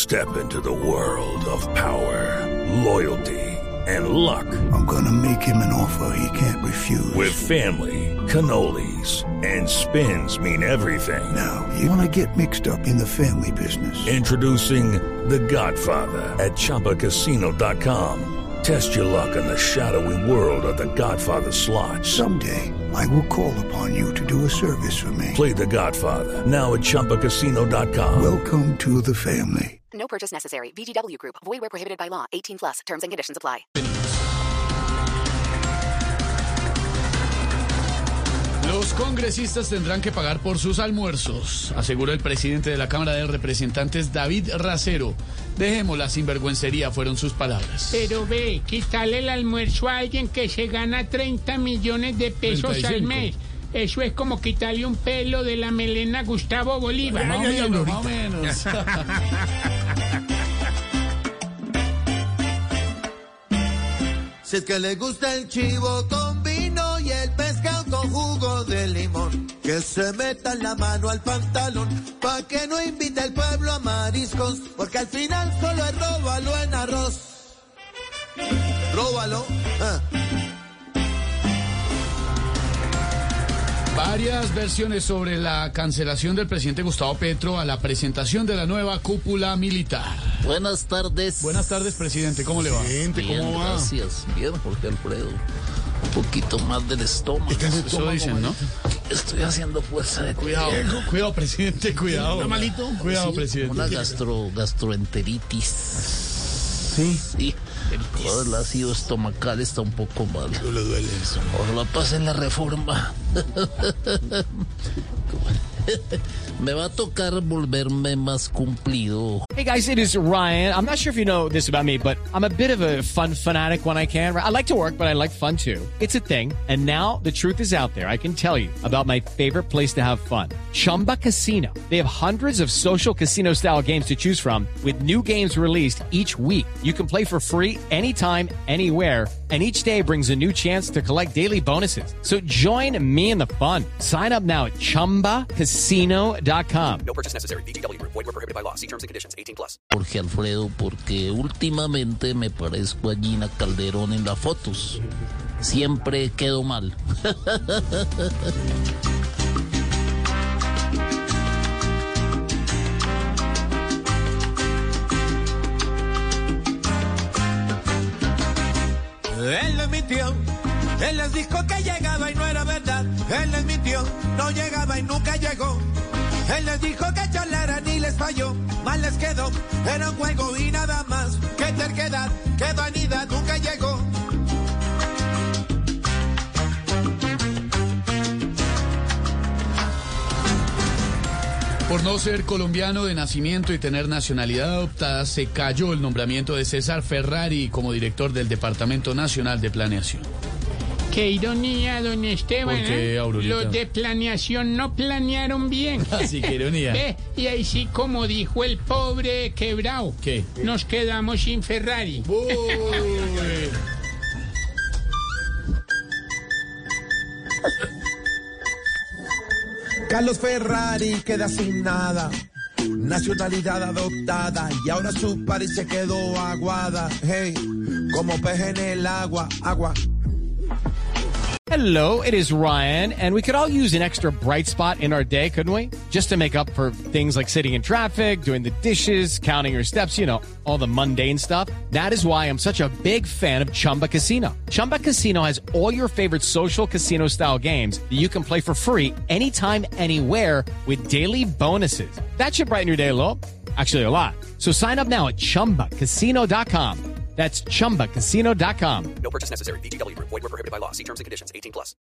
Step into the world of power, loyalty, and luck. I'm gonna make him an offer he can't refuse. With family, cannolis, and spins mean everything. Now, you wanna get mixed up in the family business. Introducing The Godfather at ChumbaCasino.com. Test your luck in the shadowy world of The Godfather slot. Someday, I will call upon you to do a service for me. Play The Godfather now at ChumbaCasino.com. Welcome to the family. No purchase necessary. VGW Group. Void where prohibited by law. 18 plus. Terms and conditions apply. Los congresistas tendrán que pagar por sus almuerzos, aseguró el presidente de la Cámara de Representantes, David Racero. Dejemos la sinvergüencería, fueron sus palabras. Pero ve, quitarle el almuerzo a alguien que se gana 30 millones de pesos 35. al mes. Eso es como quitarle un pelo de la melena a Gustavo Bolívar. Más o menos. Si es que le gusta el chivo con vino y el pescado con jugo de limón, que se meta la mano al pantalón, pa' que no invite al pueblo a mariscos, porque al final solo es róbalo en arroz. Róbalo. Varias versiones sobre la cancelación del presidente Gustavo Petro a la presentación de la nueva cúpula militar. Buenas tardes. Buenas tardes, presidente. ¿Cómo le va? Bien, gracias. Bien, Jorge Alfredo. Un poquito más del estómago. Eso dicen, ¿no? Estoy haciendo fuerza de Cuidado, cuidado, presidente, cuidado. ¿Está malito? Cuidado, Sí, presidente. Una gastroenteritis. Sí. Sí. Todo el ácido estomacal está un poco mal. No le duele eso. Ojalá pasen la reforma. Me va a tocar volverme más cumplido. Hey guys, it is Ryan. I'm not sure if you know this about me, but I'm a bit of a fun fanatic when I can. I like to work, but I like fun too. It's a thing. And now the truth is out there. I can tell you about my favorite place to have fun. Chumba Casino. They have hundreds of social casino style games to choose from with new games released each week. You can play for free anytime, anywhere. And each day brings a new chance to collect daily bonuses. So join me in the fun. Sign up now at ChumbaCasino.com. No purchase necessary. VGW Group. Void where prohibited by law. See terms and conditions. 18 plus. Jorge Alfredo, porque últimamente me parezco a Gina Calderón en las fotos. Siempre quedo mal. Él les mintió, él les dijo que llegaba y no era verdad. Él les mintió, no llegaba y nunca llegó. Él les dijo que charlaran y les falló. Mal les quedó, era un juego y nada más. Qué terquedad, qué vanidad, nunca llegó. Por no ser colombiano de nacimiento y tener nacionalidad adoptada, se cayó el nombramiento de César Ferrari como director del Departamento Nacional de Planeación. Qué ironía, don Esteban. ¿Por qué, Aurorita? Los de planeación no planearon bien. Así que ironía. Ve, y ahí sí, como dijo el pobre quebrao. ¿Qué? Nos quedamos sin Ferrari. Uy. Carlos Ferrari queda sin nada, nacionalidad adoptada, y ahora su país se quedó aguada, hey, como pez en el agua. Hello, it is Ryan, and we could all use an extra bright spot in our day, couldn't we? Just to make up for things like sitting in traffic, doing the dishes, counting your steps, you know, all the mundane stuff. That is why I'm such a big fan of Chumba Casino. Chumba Casino has all your favorite social casino-style games that you can play for free anytime, anywhere with daily bonuses. That should brighten your day a little. Actually, a lot. So sign up now at ChumbaCasino.com. That's ChumbaCasino.com. No purchase necessary. VGW Group. Void where prohibited by law. See terms and conditions. 18 plus.